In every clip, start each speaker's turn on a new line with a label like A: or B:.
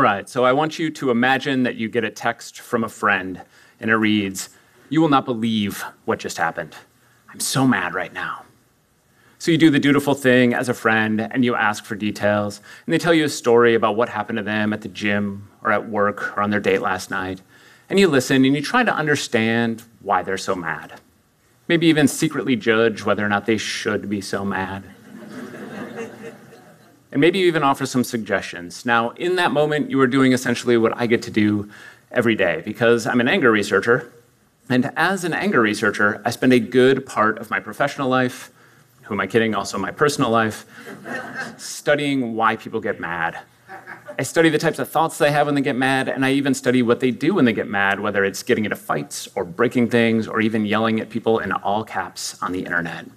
A: right, so I want you to imagine that you get a text from a friend, and it reads, "You will not believe what just happened. I'm so mad right now." So you do the dutiful thing as a friend, and you ask for details, and they tell you a story about what happened to them at the gym, or at work, or on their date last night. And you listen, and you try to understand why they're so mad. Maybe even secretly judge whether or not they should be so mad. And maybe you even offer some suggestions. Now, in that moment, you are doing essentially what I get to do every day, because I'm an anger researcher. And as an anger researcher, I spend a good part of my professional life, who am I kidding, also my personal life, studying why people get mad. I study the types of thoughts they have when they get mad, and I even study what they do when they get mad, whether it's getting into fights or breaking things or even yelling at people in all caps on the internet.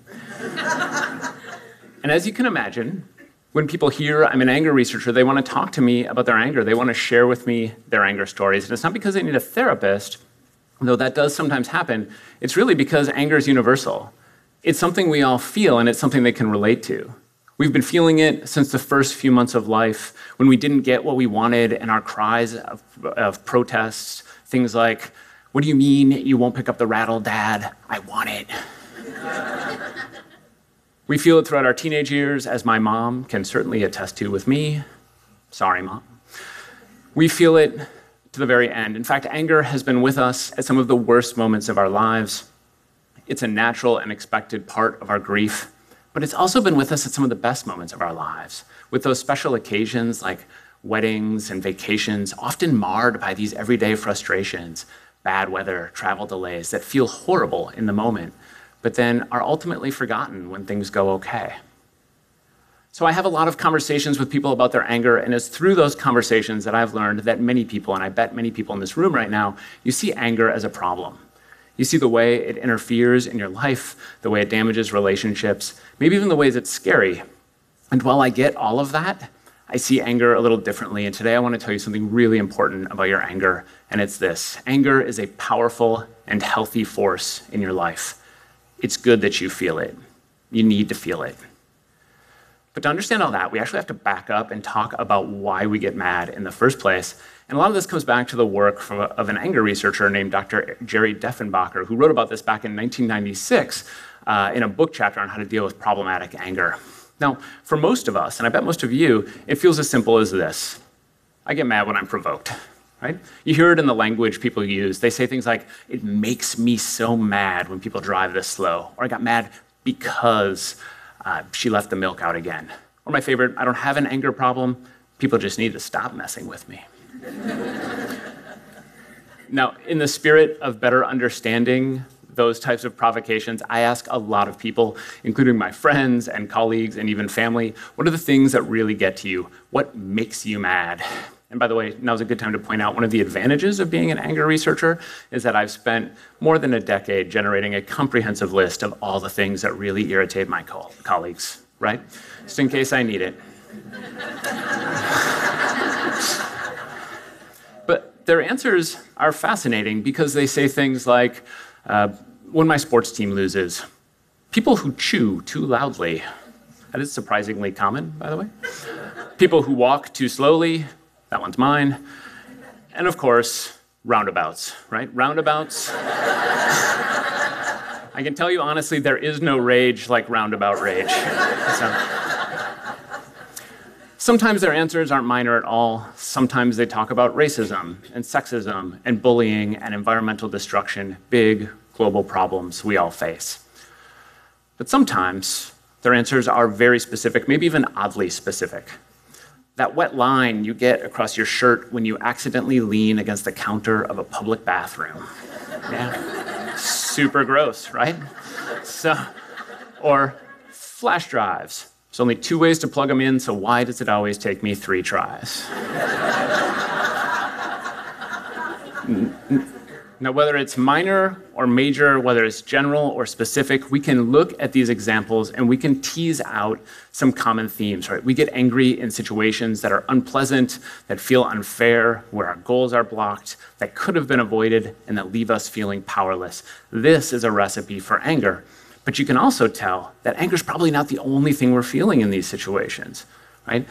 A: And as you can imagine, when people hear I'm an anger researcher, they want to talk to me about their anger. They want to share with me their anger stories. And it's not because they need a therapist, though that does sometimes happen. It's really because anger is universal. It's something we all feel, and it's something they can relate to. We've been feeling it since the first few months of life, when we didn't get what we wanted, and our cries of protests, things like, "What do you mean you won't pick up the rattle, Dad? I want it." We feel it throughout our teenage years, as my mom can certainly attest to with me. Sorry, Mom. We feel it to the very end. In fact, anger has been with us at some of the worst moments of our lives. It's a natural and expected part of our grief, but it's also been with us at some of the best moments of our lives, with those special occasions like weddings and vacations, often marred by these everyday frustrations, bad weather, travel delays that feel horrible in the moment, but then are ultimately forgotten when things go okay. So I have a lot of conversations with people about their anger, and it's through those conversations that I've learned that many people, and I bet many people in this room right now, you see anger as a problem. You see the way it interferes in your life, the way it damages relationships, maybe even the ways it's scary. And while I get all of that, I see anger a little differently, and today I want to tell you something really important about your anger, and it's this. Anger is a powerful and healthy force in your life. It's good that you feel it. You need to feel it. But to understand all that, we actually have to back up and talk about why we get mad in the first place. And a lot of this comes back to the work of an anger researcher named Dr. Jerry Deffenbacher, who wrote about this back in 1996 in a book chapter on how to deal with problematic anger. Now, for most of us, and I bet most of you, it feels as simple as this. I get mad when I'm provoked. Right? You hear it in the language people use. They say things like, "It makes me so mad when people drive this slow," or "I got mad because she left the milk out again." Or my favorite, "I don't have an anger problem. People just need to stop messing with me." Now, in the spirit of better understanding those types of provocations, I ask a lot of people, including my friends and colleagues and even family, what are the things that really get to you? What makes you mad? And by the way, now's a good time to point out one of the advantages of being an anger researcher is that I've spent more than a decade generating a comprehensive list of all the things that really irritate my colleagues, right? Just in case I need it. But their answers are fascinating because they say things like, when my sports team loses, people who chew too loudly. That is surprisingly common, by the way. People who walk too slowly. That one's mine. And of course, roundabouts, right? Roundabouts. I can tell you honestly, there is no rage like roundabout rage. Sometimes their answers aren't minor at all. Sometimes they talk about racism and sexism and bullying and environmental destruction, big global problems we all face. But sometimes their answers are very specific, maybe even oddly specific. That wet line you get across your shirt when you accidentally lean against the counter of a public bathroom. Yeah, super gross, right? Or flash drives. There's only 2 ways to plug them in, so why does it always take me 3 tries? Now, whether it's minor or major, whether it's general or specific, we can look at these examples and we can tease out some common themes, right? We get angry in situations that are unpleasant, that feel unfair, where our goals are blocked, that could have been avoided, and that leave us feeling powerless. This is a recipe for anger. But you can also tell that anger is probably not the only thing we're feeling in these situations, right?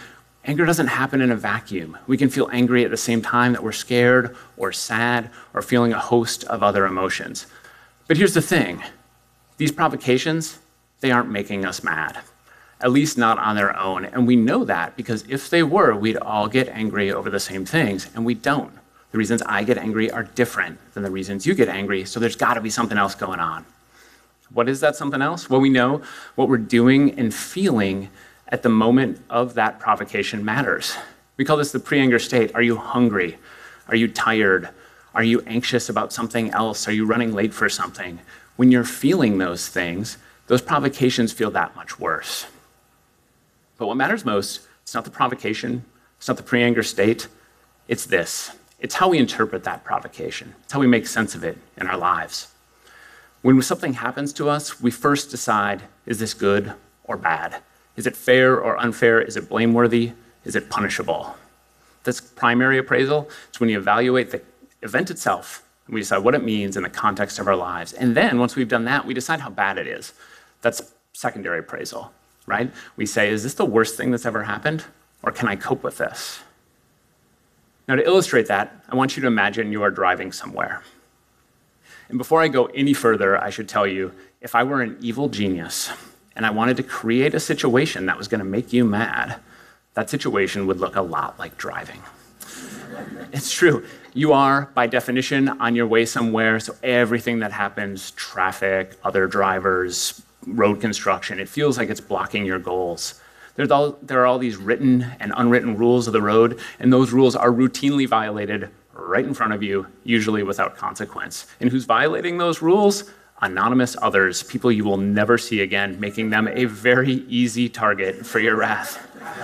A: Anger doesn't happen in a vacuum. We can feel angry at the same time that we're scared or sad or feeling a host of other emotions. But here's the thing. These provocations, they aren't making us mad, at least not on their own. And we know that because if they were, we'd all get angry over the same things, and we don't. The reasons I get angry are different than the reasons you get angry, so there's got to be something else going on. What is that something else? Well, we know what we're doing and feeling at the moment of that provocation matters. We call this the pre-anger state. Are you hungry? Are you tired? Are you anxious about something else? Are you running late for something? When you're feeling those things, those provocations feel that much worse. But what matters most, it's not the provocation, it's not the pre-anger state, it's this. It's how we interpret that provocation. It's how we make sense of it in our lives. When something happens to us, we first decide, is this good or bad? Is it fair or unfair? Is it blameworthy? Is it punishable? That's primary appraisal. It's when you evaluate the event itself and we decide what it means in the context of our lives. And then once we've done that, we decide how bad it is. That's secondary appraisal, right? We say, is this the worst thing that's ever happened? Or can I cope with this? Now, to illustrate that, I want you to imagine you are driving somewhere. And before I go any further, I should tell you, if I were an evil genius and I wanted to create a situation that was going to make you mad, that situation would look a lot like driving. It's true. You are, by definition, on your way somewhere, so everything that happens, traffic, other drivers, road construction, it feels like it's blocking your goals. There are all these written and unwritten rules of the road, and those rules are routinely violated right in front of you, usually without consequence. And who's violating those rules? Anonymous others, people you will never see again, making them a very easy target for your wrath.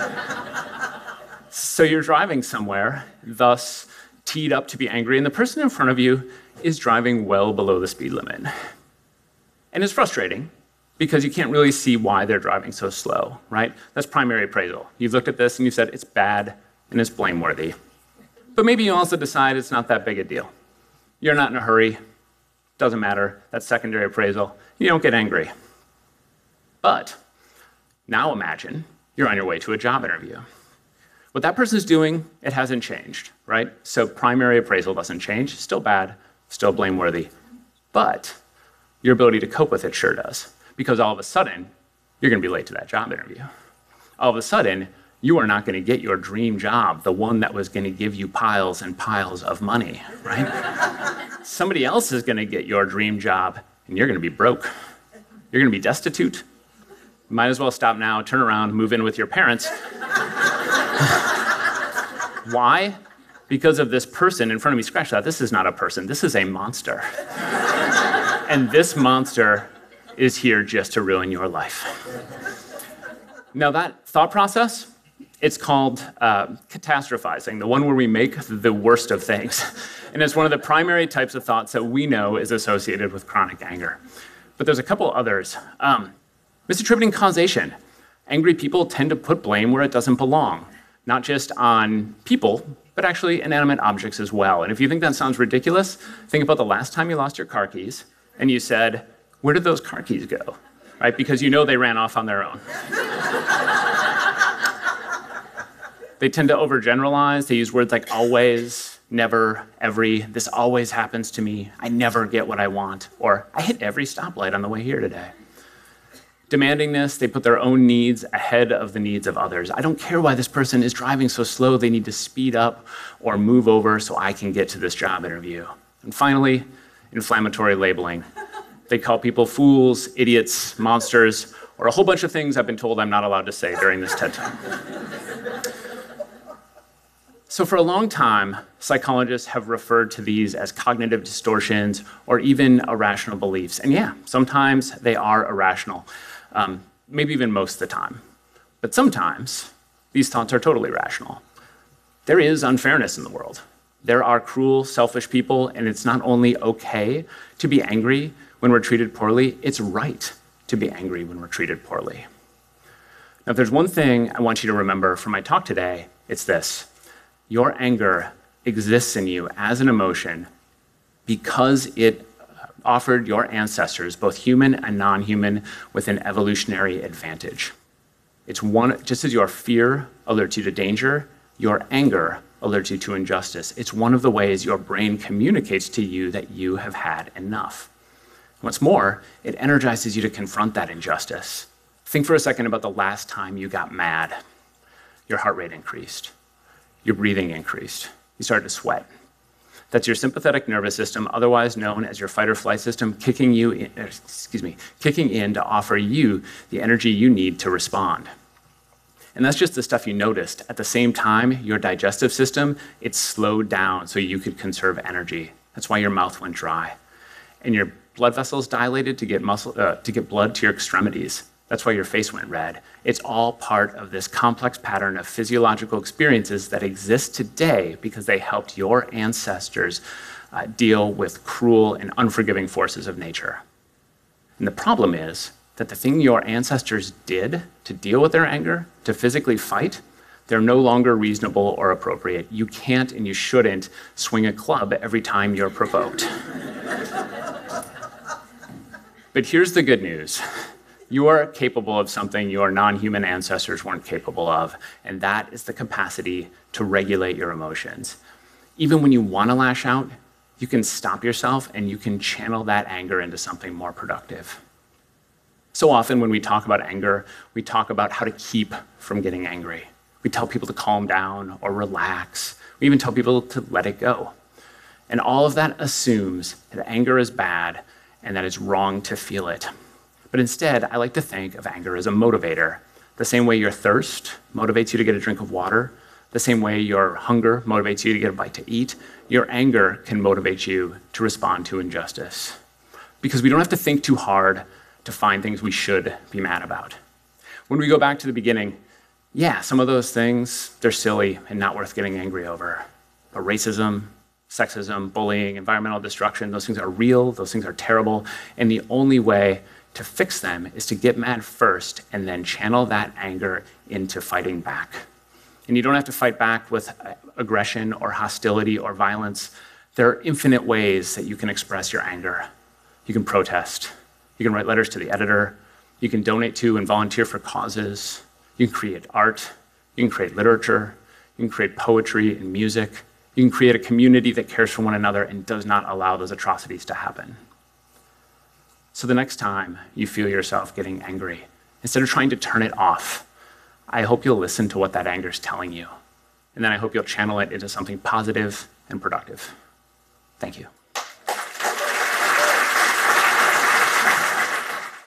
A: So you're driving somewhere, thus teed up to be angry, and the person in front of you is driving well below the speed limit. And it's frustrating because you can't really see why they're driving so slow, right? That's primary appraisal. You've looked at this and you've said it's bad and it's blameworthy. But maybe you also decide it's not that big a deal. You're not in a hurry. Doesn't matter. That's secondary appraisal. You don't get angry. But now imagine you're on your way to a job interview. What that person's doing, it hasn't changed, right? So primary appraisal doesn't change. Still bad, still blameworthy. But your ability to cope with it sure does. Because all of a sudden, you're going to be late to that job interview. All of a sudden, you are not going to get your dream job, the one that was going to give you piles and piles of money, right? Somebody else is going to get your dream job, and you're going to be broke. You're going to be destitute. You might as well stop now, turn around, move in with your parents. Why? Because of this person in front of me. Scratch that. This is not a person. This is a monster. And this monster is here just to ruin your life. Now, that thought process, it's called catastrophizing, the one where we make the worst of things. And it's one of the primary types of thoughts that we know is associated with chronic anger. But there's a couple others. Misattributing causation. Angry people tend to put blame where it doesn't belong, not just on people, but actually inanimate objects as well. And if you think that sounds ridiculous, think about the last time you lost your car keys and you said, where did those car keys go? Right? Because you know they ran off on their own. They tend to overgeneralize. They use words like always, never, every, this always happens to me, I never get what I want, or I hit every stoplight on the way here today. Demanding this, they put their own needs ahead of the needs of others. I don't care why this person is driving so slow, they need to speed up or move over so I can get to this job interview. And finally, inflammatory labeling. They call people fools, idiots, monsters, or a whole bunch of things I've been told I'm not allowed to say during this TED Talk. So for a long time, psychologists have referred to these as cognitive distortions or even irrational beliefs. And yeah, sometimes they are irrational, maybe even most of the time. But sometimes these thoughts are totally rational. There is unfairness in the world. There are cruel, selfish people, and it's not only okay to be angry when we're treated poorly, it's right to be angry when we're treated poorly. Now, if there's one thing I want you to remember from my talk today, it's this. Your anger exists in you as an emotion because it offered your ancestors, both human and non-human, with an evolutionary advantage. Just as your fear alerts you to danger, your anger alerts you to injustice. It's one of the ways your brain communicates to you that you have had enough. What's more, it energizes you to confront that injustice. Think for a second about the last time you got mad. Your heart rate increased. Your breathing increased. You started to sweat. That's your sympathetic nervous system, otherwise known as your fight or flight system, kicking in to offer you the energy you need to respond. And that's just the stuff you noticed. At the same time, your digestive system, it slowed down so you could conserve energy. That's why your mouth went dry. And your blood vessels dilated to get blood to your extremities. That's why your face went red. It's all part of this complex pattern of physiological experiences that exist today because they helped your ancestors deal with cruel and unforgiving forces of nature. And the problem is that the thing your ancestors did to deal with their anger, to physically fight, they're no longer reasonable or appropriate. You can't and you shouldn't swing a club every time you're provoked. But here's the good news. You are capable of something your non-human ancestors weren't capable of, and that is the capacity to regulate your emotions. Even when you want to lash out, you can stop yourself and you can channel that anger into something more productive. So often when we talk about anger, we talk about how to keep from getting angry. We tell people to calm down or relax. We even tell people to let it go. And all of that assumes that anger is bad and that it's wrong to feel it. But instead, I like to think of anger as a motivator. The same way your thirst motivates you to get a drink of water, the same way your hunger motivates you to get a bite to eat, your anger can motivate you to respond to injustice. Because we don't have to think too hard to find things we should be mad about. When we go back to the beginning, yeah, some of those things, they're silly and not worth getting angry over. But racism, sexism, bullying, environmental destruction, those things are real, those things are terrible, and the only way to fix them is to get mad first and then channel that anger into fighting back. And you don't have to fight back with aggression or hostility or violence. There are infinite ways that you can express your anger. You can protest. You can write letters to the editor. You can donate to and volunteer for causes. You can create art. You can create literature. You can create poetry and music. You can create a community that cares for one another and does not allow those atrocities to happen. So the next time you feel yourself getting angry, instead of trying to turn it off, I hope you'll listen to what that anger is telling you. And then I hope you'll channel it into something positive and productive. Thank you.